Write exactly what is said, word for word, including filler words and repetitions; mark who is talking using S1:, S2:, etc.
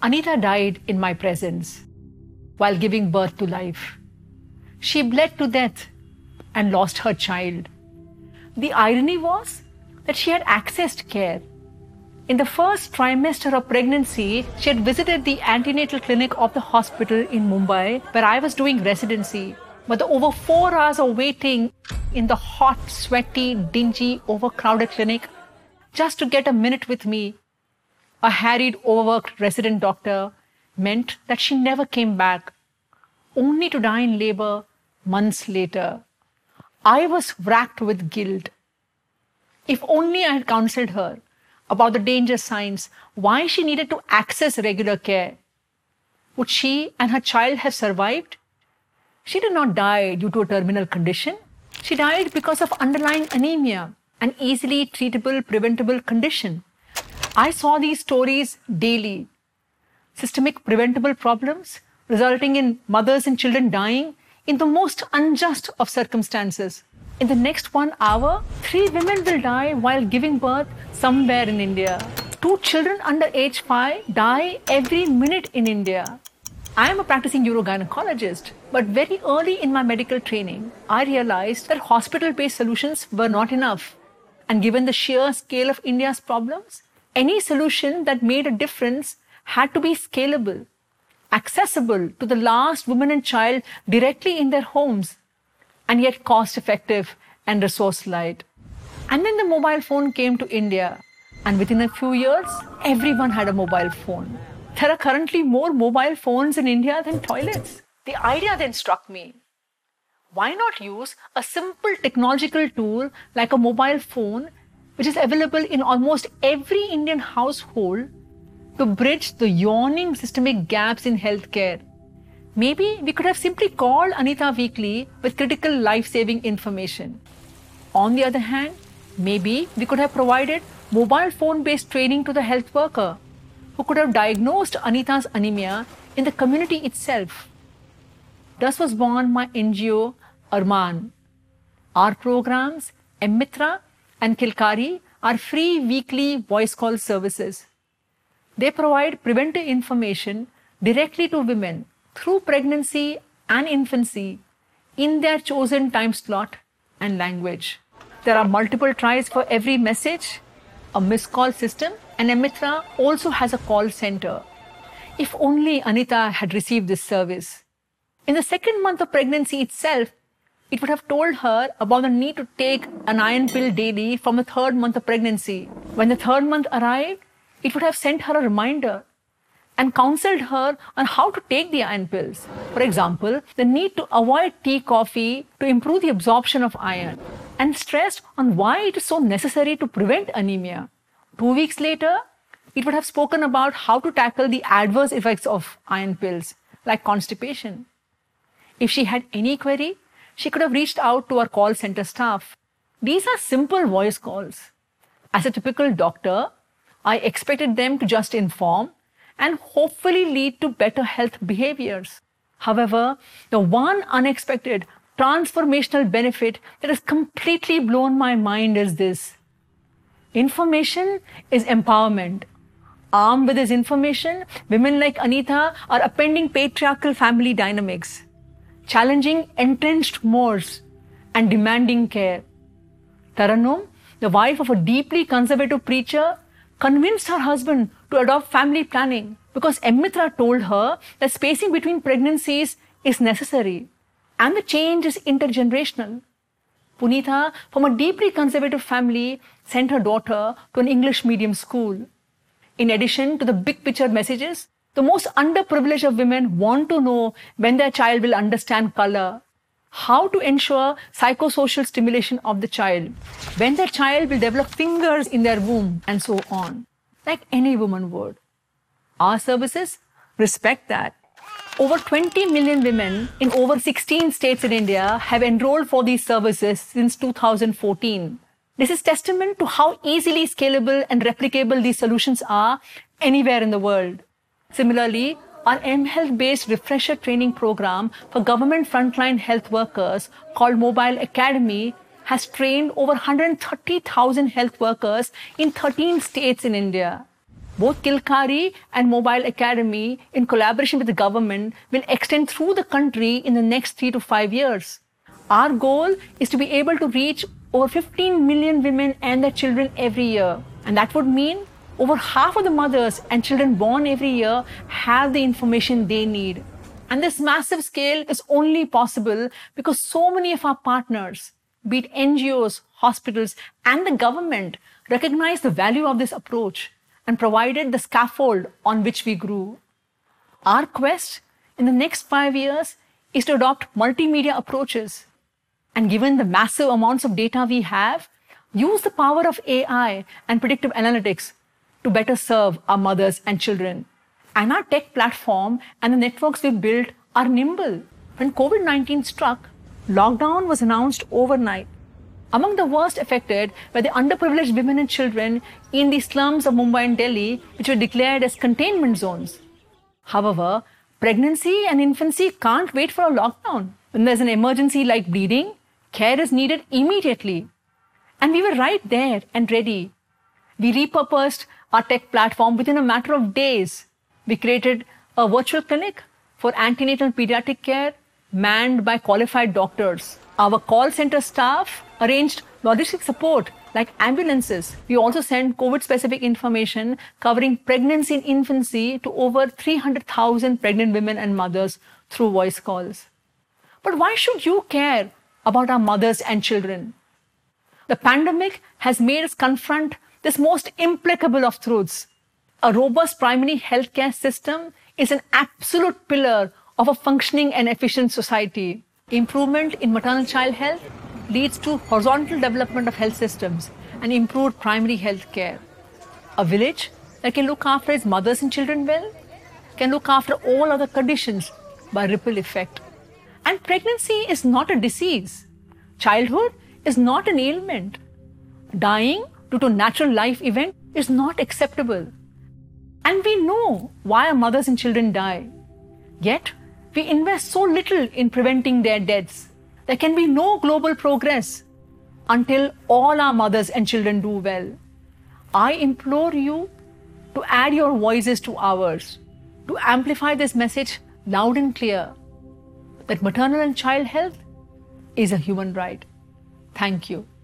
S1: Anita died in my presence while giving birth to life. She bled to death and lost her child. The irony was that she had accessed care. In the first trimester of pregnancy, she had visited the antenatal clinic of the hospital in Mumbai, where I was doing residency. But the over four hours of waiting in the hot, sweaty, dingy, overcrowded clinic just to get a minute with me, a harried, overworked resident doctor, meant that she never came back, only to die in labor months later. I was racked with guilt. If only I had counseled her about the danger signs, why she needed to access regular care. Would she and her child have survived? She did not die due to a terminal condition. She died because of underlying anemia, an easily treatable, preventable condition. I saw these stories daily. Systemic preventable problems resulting in mothers and children dying in the most unjust of circumstances. In the next one hour, three women will die while giving birth somewhere in India. Two children under age five die every minute in India. I am a practicing urogynecologist, but very early in my medical training, I realized that hospital-based solutions were not enough. And given the sheer scale of India's problems, any solution that made a difference had to be scalable, accessible to the last woman and child directly in their homes, and yet cost-effective and resource-light. And then the mobile phone came to India, and within a few years, everyone had a mobile phone. There are currently more mobile phones in India than toilets. The idea then struck me. Why not use a simple technological tool like a mobile phone, which is available in almost every Indian household, to bridge the yawning systemic gaps in healthcare? Maybe we could have simply called Anita weekly with critical life-saving information. On the other hand, maybe we could have provided mobile phone-based training to the health worker who could have diagnosed Anita's anemia in the community itself. Thus was born my N G O, Arman. Our programs, Mmitra and Kilkari, are free weekly voice call services. They provide preventive information directly to women through pregnancy and infancy in their chosen time slot and language. There are multiple tries for every message, a missed call system, and Mmitra also has a call center. If only Anita had received this service. In the second month of pregnancy itself, it would have told her about the need to take an iron pill daily from the third month of pregnancy. When the third month arrived, it would have sent her a reminder and counseled her on how to take the iron pills. For example, the need to avoid tea, coffee to improve the absorption of iron, and stressed on why it is so necessary to prevent anemia. Two weeks later, it would have spoken about how to tackle the adverse effects of iron pills, like constipation. If she had any query, she could have reached out to our call center staff. These are simple voice calls. As a typical doctor, I expected them to just inform and hopefully lead to better health behaviors. However, the one unexpected transformational benefit that has completely blown my mind is this. Information is empowerment. Armed with this information, women like Anita are upending patriarchal family dynamics, challenging entrenched mores, and demanding care. Taranum, the wife of a deeply conservative preacher, convinced her husband to adopt family planning because Mmitra told her that spacing between pregnancies is necessary and the change is intergenerational. Punitha, from a deeply conservative family, sent her daughter to an English medium school. In addition to the big picture messages, the most underprivileged of women want to know when their child will understand color, how to ensure psychosocial stimulation of the child, when their child will develop fingers in their womb, and so on, like any woman would. Our services respect that. Over twenty million women in over sixteen states in India have enrolled for these services since two thousand fourteen. This is testament to how easily scalable and replicable these solutions are anywhere in the world. Similarly, our mHealth-based refresher training program for government frontline health workers called Mobile Academy has trained over one hundred thirty thousand health workers in thirteen states in India. Both Kilkari and Mobile Academy, in collaboration with the government, will extend through the country in the next three to five years. Our goal is to be able to reach over fifteen million women and their children every year. And that would mean over half of the mothers and children born every year have the information they need. And this massive scale is only possible because so many of our partners, be it N G Os, hospitals, and the government, recognize the value of this approach and provided the scaffold on which we grew. Our quest in the next five years is to adopt multimedia approaches. And given the massive amounts of data we have, use the power of A I and predictive analytics to better serve our mothers and children. And our tech platform and the networks we've built are nimble. When COVID nineteen struck, lockdown was announced overnight. Among the worst affected were the underprivileged women and children in the slums of Mumbai and Delhi, which were declared as containment zones. However, pregnancy and infancy can't wait for a lockdown. When there's an emergency like bleeding, care is needed immediately. And we were right there and ready. We repurposed our tech platform within a matter of days. We created a virtual clinic for antenatal pediatric care manned by qualified doctors. Our call center staff arranged logistic support like ambulances. We also sent COVID-specific information covering pregnancy and infancy to over three hundred thousand pregnant women and mothers through voice calls. But why should you care about our mothers and children? The pandemic has made us confront this most implacable of truths. A robust primary healthcare system is an absolute pillar of a functioning and efficient society. Improvement in maternal-child health leads to horizontal development of health systems and improved primary health care. A village that can look after its mothers and children well can look after all other conditions by ripple effect. And pregnancy is not a disease. Childhood is not an ailment. Dying due to a natural life event is not acceptable. And we know why our mothers and children die. Yet, we invest so little in preventing their deaths. There can be no global progress until all our mothers and children do well. I implore you to add your voices to ours, to amplify this message loud and clear that maternal and child health is a human right. Thank you.